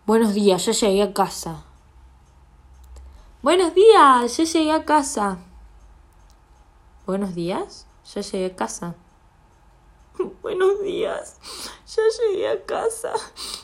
Buenos días, ya llegué a casa. Buenos días, ya llegué a casa. Buenos días, ya llegué a casa. Buenos días, ya llegué a casa.